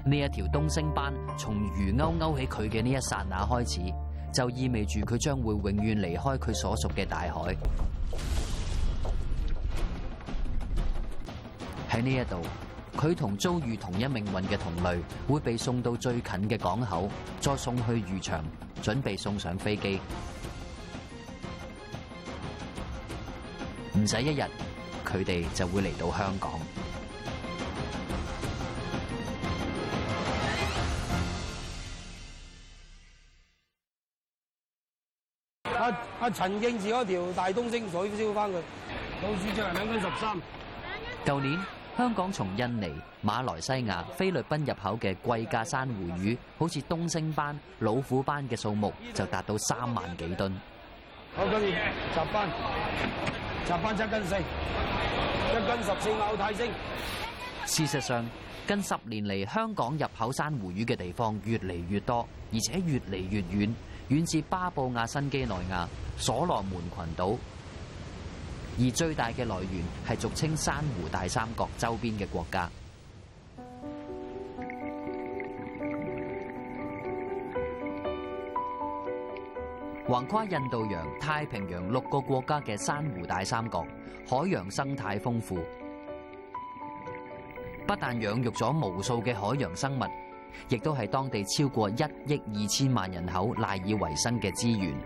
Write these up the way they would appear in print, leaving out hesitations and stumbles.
呢一條東星斑從魚鈎勾起佢嘅呢一剎那開始，就意味住佢將會永遠離開佢所屬嘅大海。喺呢一度，佢同遭遇同一命運嘅同類會被送到最近嘅港口，再送去漁場，準備送上飛機。唔使一日，佢哋就會嚟到香港。 陳敬治嗰條大東星水燒翻佢，老鼠隻係2斤13。 舊年香港從印尼、馬來西亞、菲律賓入口嘅貴價珊瑚魚，好似東星斑、老虎斑嘅數目就達到3萬幾噸。 好，跟住集翻7斤4，1斤14咬泰星。 事實上，近10年嚟，香港入口珊瑚魚嘅地方越嚟越多，而且越嚟越遠，遠至巴布亞新畿內亞、所羅門群島，而最大嘅來源係俗稱珊瑚大三角周邊嘅國家。橫跨印度洋、太平洋6個國家嘅珊瑚大三角，海洋生態豐富，不但養育咗無數嘅海洋生物，亦都係當地超過1億2千萬人口賴以為生嘅資源。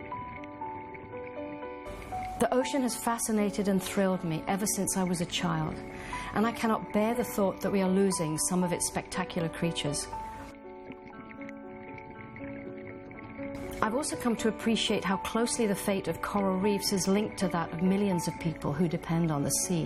The ocean has fascinated and thrilled me ever since I was a child, and I cannot bear the thought that we are losing some of its spectacular creatures. I've also come to appreciate how closely the fate of coral reefs is linked to that of millions of people who depend on the sea.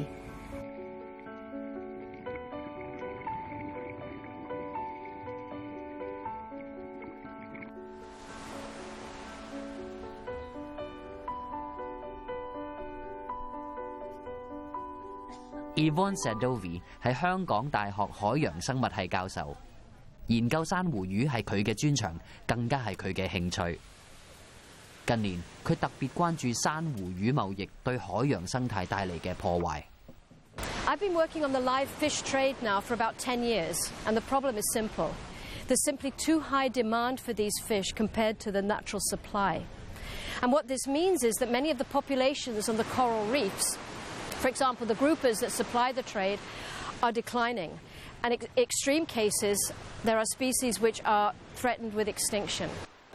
Yvonne Sadovi 係香港大學海洋生物系教授，研究珊瑚魚係佢嘅專長，更加係佢嘅興趣。近年，佢特別關注珊瑚魚貿易對海洋生態帶嚟嘅破壞。 I've been working on the live fish trade now for about 10 years, and the problem is simple. There's simply too high demand for these fish compared to the natural supply. And what this means is that many of the populations on the coral reefs, for example, the groupers that supply the trade, are declining. And in extreme cases, there are species which are threatened with extinction.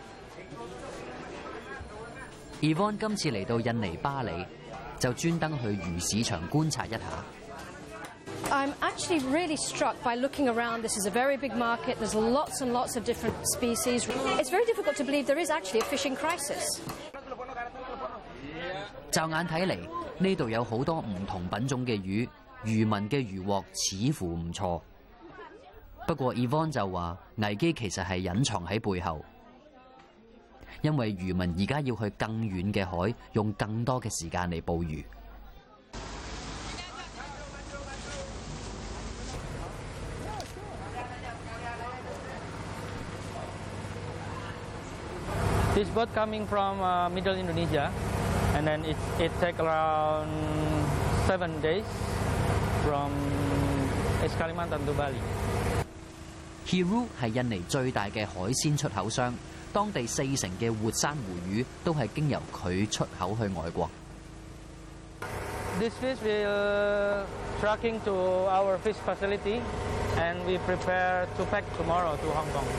Yvonne 今次嚟到印尼巴里，就專登去魚市場觀察一下。 I'm actually really struck by looking around. This is a very big market. There's lots and lots of different species. It's very difficult to believe there is actually a fishing crisis. 驟眼睇嚟，呢度有好多唔同品種嘅魚，漁民嘅漁獲似乎唔錯。不過 Yvonne 就話，危機其實係隱藏喺背後，因為漁民而家要去更遠嘅海，用更多嘅時間嚟捕魚。 This boat coming from Middle Indonesia, and then it take around 7 days from Kalimantan to Bali. Hiru 係印尼最大嘅海鮮出口商，當地40%嘅活珊瑚魚都係經由佢出口去外國。 This fish will trucking to our fish facility, and we prepare to pack tomorrow to Hong Kong.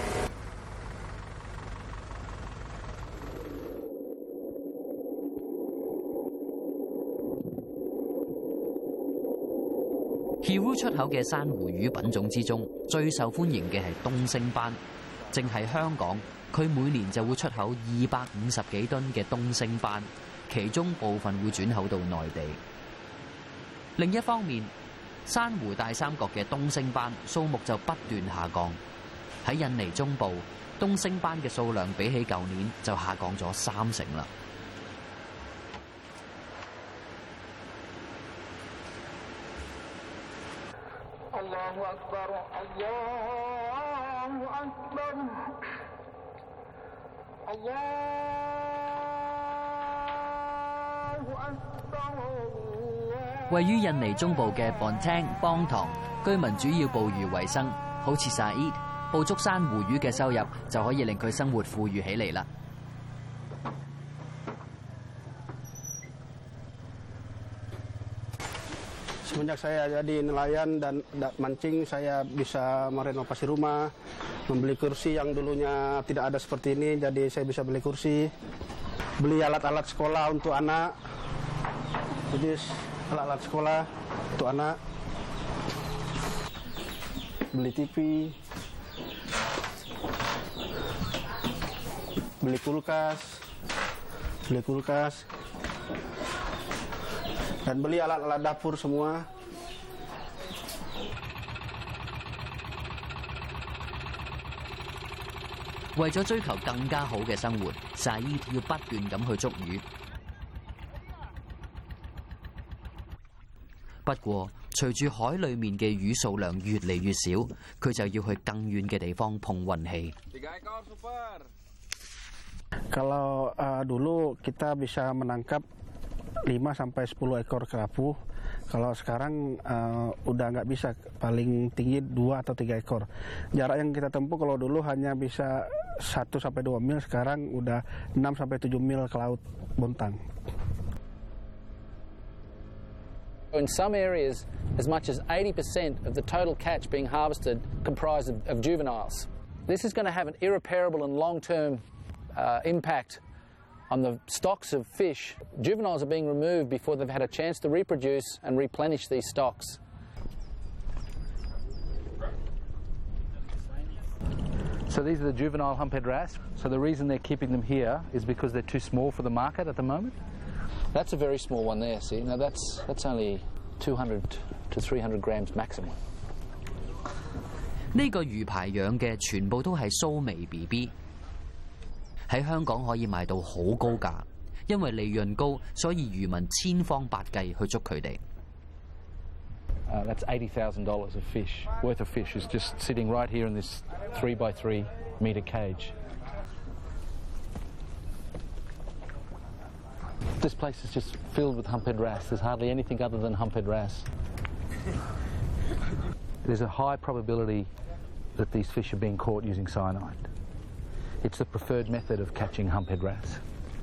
Hiru 出口嘅珊瑚魚品種之中，最受歡迎嘅係東星斑。淨係香港，佢每年就會出口250幾噸嘅東星斑，其中部分會轉口到內地。另一方面，珊瑚大三角嘅東星斑數目就不斷下降。喺印尼中部，東星斑嘅數量比起舊年就下降咗30%啦。位於印尼中部嘅邦聽邦塘，居民主要捕魚為生， 好似 Said 捕捉珊瑚魚嘅收入就可以令佢生活富裕起嚟啦。 Semenjak saya jadi nelayan dan mancing, saya bisa merenovasi rumah, membeli kursi yang dulunya tidak ada seperti ini, jadi saya bisa beli kursi, beli alat-alat sekolah untuk anak, jadi alat-alat sekolah untuk anak, beli TV, beli kulkas, dan beli alat-alat dapur semua. 為咗追求更加好嘅生活，Said要不斷咁去捉魚。不過，隨住海裡面嘅魚數量越嚟越少，佢就要去更遠嘅地方碰運氣。 Kalau dulu kita bisa menangkap 5 sampai 10 ekor kerapu. Kalau sekarang udah nggak bisa, paling tinggi 2 atau 3 ekor. Jarak yang kita tempuh kalau dulu hanya bisa 1 sampai 2 mil, sekarang udah 6 sampai 7 mil ke laut Bontang. In some areas, as much as 80% of the total catch being harvested comprise of juveniles. This is going to have an irreparable and long-term impact on the stocks of fish. Juveniles are being removed before they've had a chance to reproduce and replenish these stocks. So these are the juvenile humphead wrasse. So the reason they're keeping them here is because they're too small for the market at the moment? That's a very small one there, see? Now that's only 200 to 300 grams maximum. 呢個魚排養嘅全部都係蘇眉 BB。喺香港可以賣到好高價，因為利潤高，所以漁民千方百計去捉佢哋。 That's $80,000 worth of fish is just sitting right here in this 3 by 3 metre cage. This place is just filled with humphead wrasse. There's hardly anything other than humphead wrasse. There's a high probability that these fish are being caught using cyanide. It's the preferred method of catching humphead wrasse.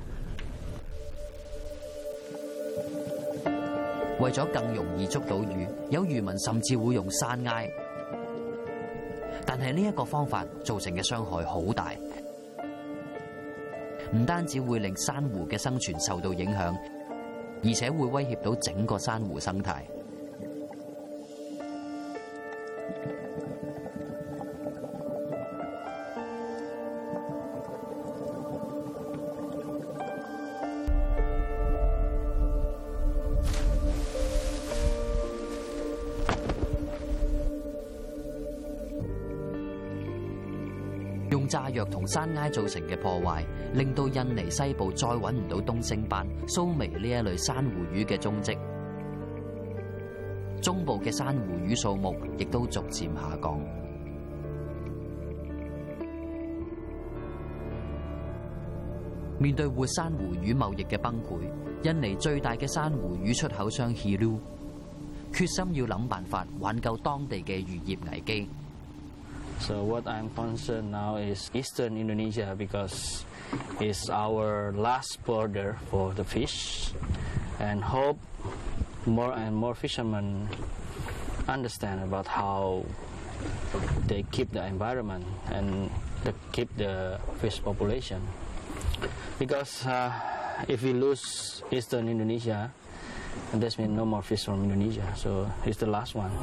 為咗更容易捉到魚，有漁民甚至會用山埃，但係呢一個方法造成嘅傷害好大，唔單止會令珊瑚嘅生存受到影響，而且會威脅到整個珊瑚生態。用炸藥同山埃造成嘅破壞，令到印尼西部再揾唔到東星斑、蘇眉呢一類珊瑚魚嘅蹤跡，中部嘅珊瑚魚數目亦都逐漸下降。面對活珊瑚魚貿易嘅崩潰，印尼最大嘅珊瑚魚出口商 Hilu 決心要諗辦法挽救當地嘅漁業危機。 So what I'm concerned now is Eastern Indonesia because it's our last border for the fish, and hope more and more fishermen understand about how they keep the environment and keep the fish population. Because if we lose Eastern Indonesia, that means no more fish from Indonesia. So it's the last one.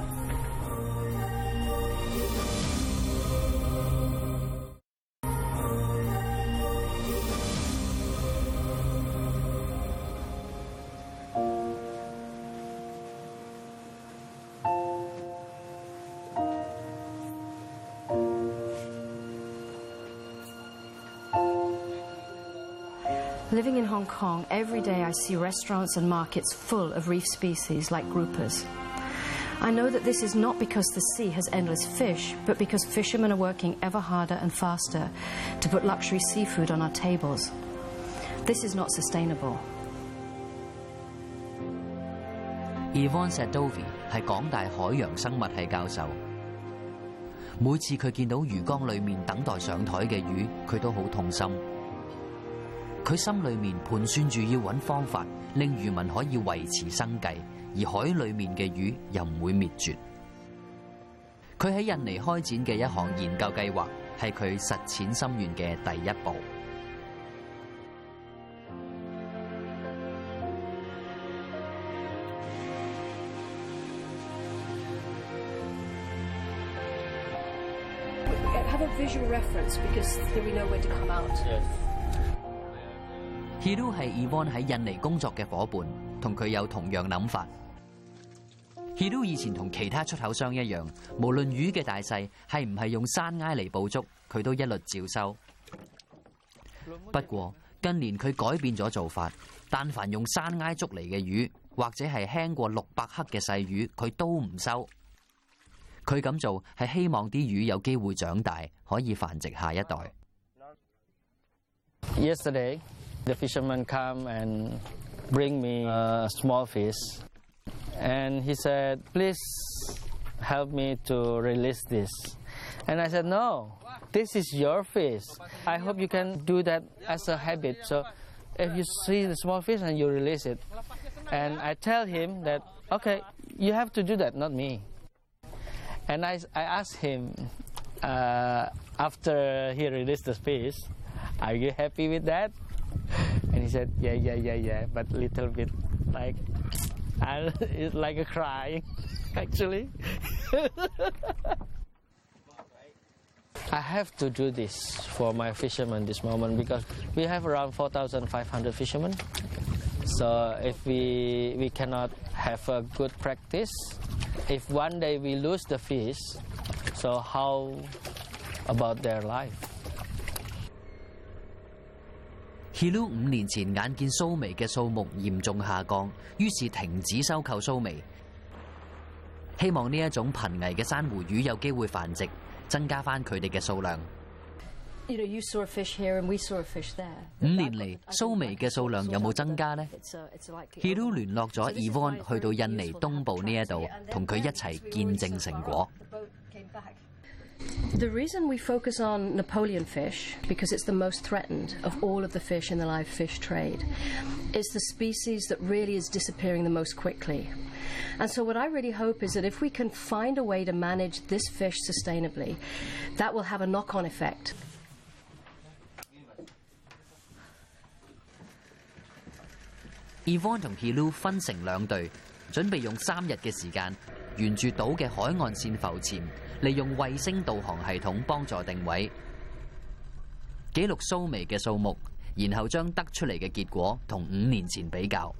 Living in Hong Kong, every day I see restaurants and markets full of reef species like groupers. I know that this is not because the sea has endless fish, but because fishermen are working ever harder and faster to put luxury seafood on our tables. This is not sustainable. Yvonne Sadovi 係港大海洋生物系教授。 每次佢見到魚缸裏面等待上台嘅魚，佢都好痛心。佢心裏面盤算住要揾方法，令漁民可以維持生計，而海裏面嘅魚又唔會滅絕。佢喺印尼開展嘅一項研究計劃，係佢實踐心願嘅第一步。 Have a visual reference because then we know where to come out. Hiru 係 Yvonne 喺印尼工作嘅伙伴，同佢有同樣諗法。Hiru 以前同其他出口商一樣，無論魚嘅大細係唔係用山埃嚟捕捉，佢都一律照收。不過近年佢改變咗做法，但凡用山埃捉嚟嘅魚，或者係輕過600克嘅細魚，佢都唔收。佢咁做係希望啲魚有機會長大，可以繁殖下一代。 Yesterday, the fisherman come and bring me a small fish, and he said, "Please help me to release this." And I said, "No, this is your fish. I hope you can do that as a habit. So, if you see the small fish and you release it." And I tell him that, "Okay, you have to do that, not me." And I asked him, after he released the fish, "Are you happy with that?" And he said, yeah, but little bit like, it's like a crying, actually. I have to do this for my fishermen this moment because we have around 4,500 fishermen. So if we cannot have a good practice, if one day we lose the fish, so how about their life? Hiru 5年前眼見蘇眉嘅數目嚴重下降，於是停止收購蘇眉，希望呢一種瀕危嘅珊瑚魚有機會繁殖，增加返佢哋嘅數量。 You know, you saw a fish here and we saw a fish there. 5年嚟，蘇眉嘅數量有冇增加呢？ Hiru 聯絡咗 Yvonne 去到印尼東部呢一度，同佢一齊見證成果。 The reason we focus on Napoleon fish, because it's the most threatened of all of the fish in the live fish trade, is the species that really is disappearing the most quickly. And so what I really hope is that if we can find a way to manage this fish sustainably, that will have a knock-on effect. Yvonne 同 Hiru 分成兩隊，準備用3日嘅時間，沿住島嘅海岸線浮潛，利用衛星導航系統幫助定位，記錄蘇眉嘅數目，然後將得出嚟嘅結果同5年前比較。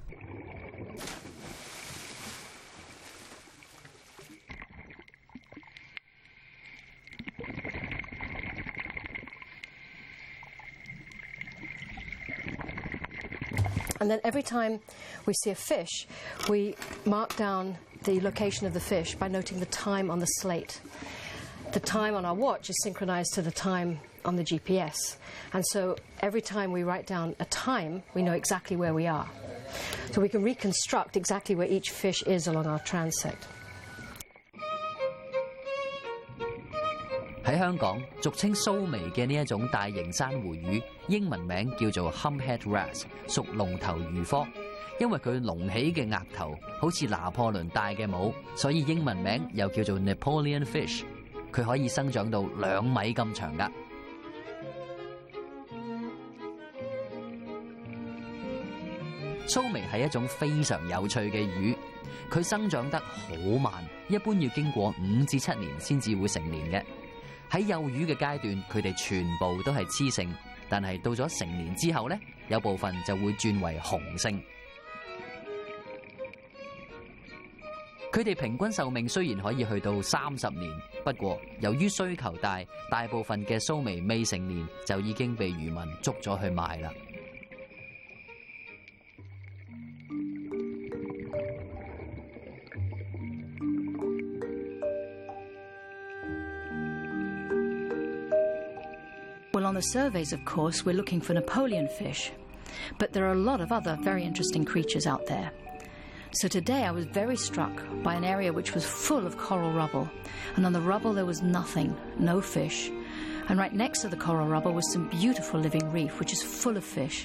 And then every time we see a fish, we mark down the location of the fish by noting the time on the slate. The time on our watch is synchronized to the time on the GPS. And so every time we write down a time, we know exactly where we are. So we can reconstruct exactly where each fish is along our transect. 喺香港，俗稱蘇眉嘅呢一種大型珊瑚魚，英文名叫做 Humphead Wrasse， 屬龍頭魚科。因為佢隆起嘅額頭好似拿破崙大嘅帽，所以英文名又叫做 Napoleon Fish。佢可以生長到2米咁長㗎。蘇眉係一種非常有趣嘅魚，佢生長得好慢，一般要經過5至7年先至會成年嘅。喺幼魚嘅階段，佢哋全部都係雌性，但係到咗成年之後咧，有部分就會轉為雄性。佢哋平均壽命雖然可以去到30年，不過由於需求大，大部分嘅蘇眉未成年就已經被漁民捉咗去賣啦。 Well, on the surveys, of course, we're looking for Napoleon fish, but there are a lot of other very interesting creatures out there. So today I was very struck by an area which was full of coral rubble. And on the rubble there was nothing, no fish. And right next to the coral rubble was some beautiful living reef, which is full of fish.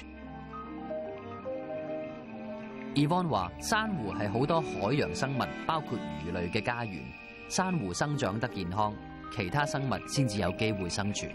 Yvonne 話：珊瑚係好多海洋生物，包括魚類嘅家園。珊瑚生長得健康，其他生物先至有機會生存。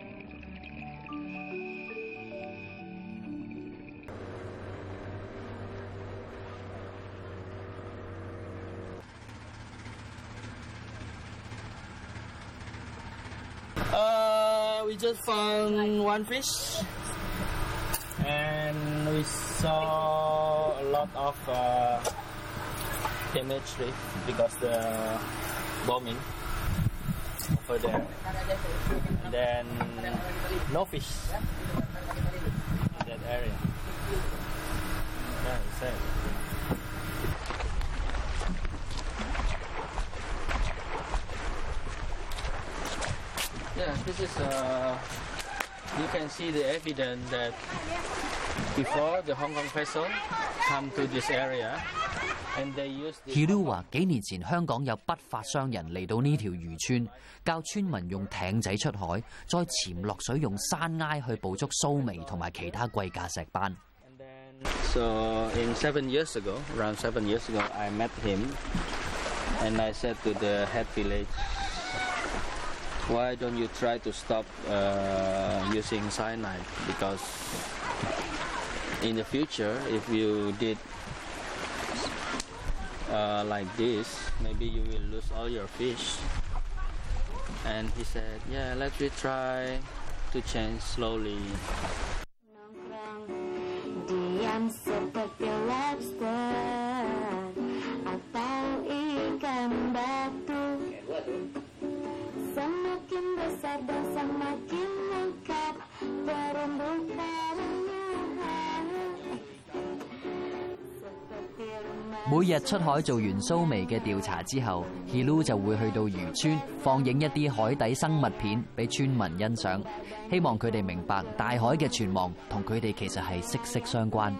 We just found one fish, and we saw a lot of damaged reef because the bombing over there. And then no fish in that area. Yeah, it's it. Yeah, this is you can see the evidence that before the Hong Kong vessel come to this area, and they use. Hilu 話：幾年前香港有不法商人嚟到呢條漁村，教村民用艇仔出海，再潛落水用山埃去捕捉蘇眉同埋其他貴價石斑。 So in 7 years ago, around 7 years ago, I met him, and I said to the head village, why don't you try to stop using cyanide? Because in the future, if you did like this, maybe you will lose all your fish. And he said, yeah, let's try to change slowly. Diam seperti lobster atau ikan batu. Semakin besar dan semakin lengkap terumbu karangnya. 每日出海做完蘇眉嘅調查之後 ，Hilu 就會去到漁村放映一啲海底生物片俾村民欣賞，希望佢哋明白大海嘅存亡同佢哋其實係息息相關。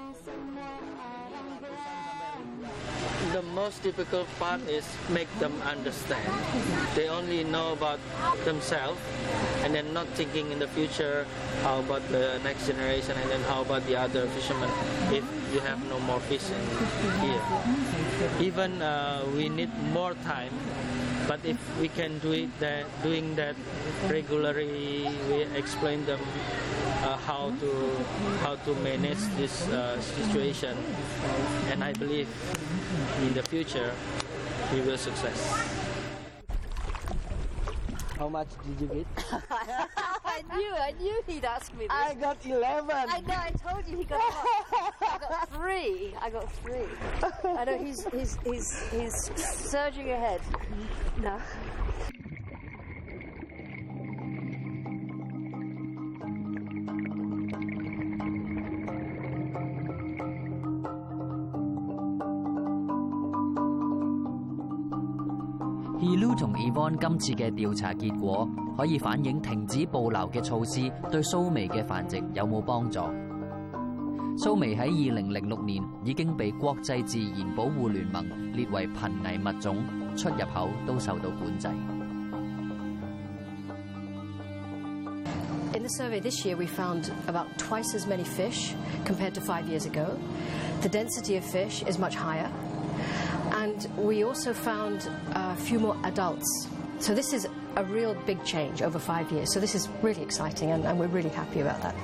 The most difficult part is make them understand. They only know about themselves, and then not thinking in the future how about the next generation, and then how about the other fishermen if you have no more fish in here. Even we need more time, but if we can do it, doing that regularly, we explain them how to manage this situation, and I believe in the future we will success. How much did you get? I knew he'd ask me this. I got 11. I know, I told you he got I got three. I know he's surging ahead. No. Hilu 同 Yvonne 今次嘅調查結果，可以反映停止捕撈嘅措施對蘇眉嘅繁殖有冇幫助。蘇眉喺2006年已經被國際自然保護聯盟列為瀕危物種，出入口都受到管制。 In the survey this year, we found about twice as many fish compared to 5 years ago. The density of fish is much higher. And we also found a few more adults. So this is a real big change over 5 years. So this is really exciting, and we're really happy about that.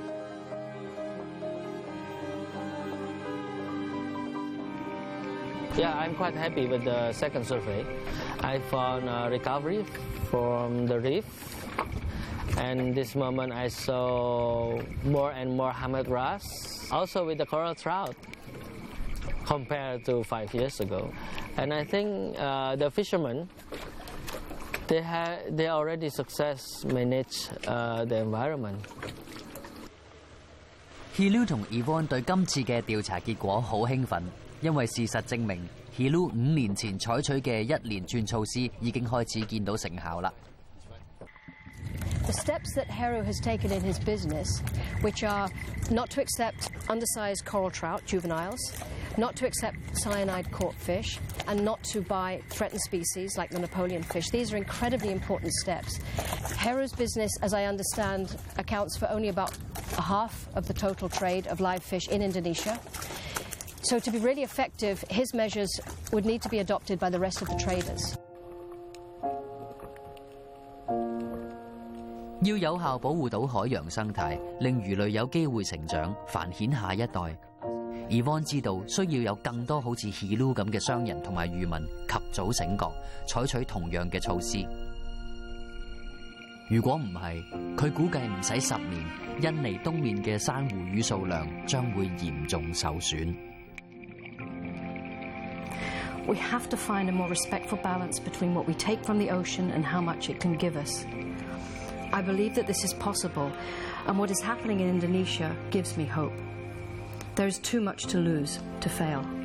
Yeah, I'm quite happy with the second survey. I found a recovery from the reef, and this moment I saw more and more hermit wrasse, also with the coral trout, compared to 5 years ago. And I think the fishermen, they already success manage the environment. Hilu 同 Yvonne 對今次嘅調查結果好興奮，因為事實證明 Hilu 5年前採取嘅一連串措施已經開始見到成效啦。 The steps that Heru has taken in his business, which are not to accept undersized coral trout, juveniles, not to accept cyanide caught fish, and not to buy threatened species like the Napoleon fish. These are incredibly important steps. Heru's business, as I understand, accounts for only about a half of the total trade of live fish in Indonesia. So to be really effective, his measures would need to be adopted by the rest of the traders. 要有效保護到海洋生態，令魚類有機會成長，繁衍下一代。Yvonne 知道需要有更多好似 Hilu 咁嘅商人同埋漁民及早醒覺，採取同樣嘅措施。如果唔係，佢估計唔使10年，印尼東面嘅珊瑚魚數量將會嚴重受損。 We have to find a more respectful balance between what we take from the ocean and how much it can give us. I believe that this is possible, and what is happening in Indonesia gives me hope. There is too much to lose, to fail.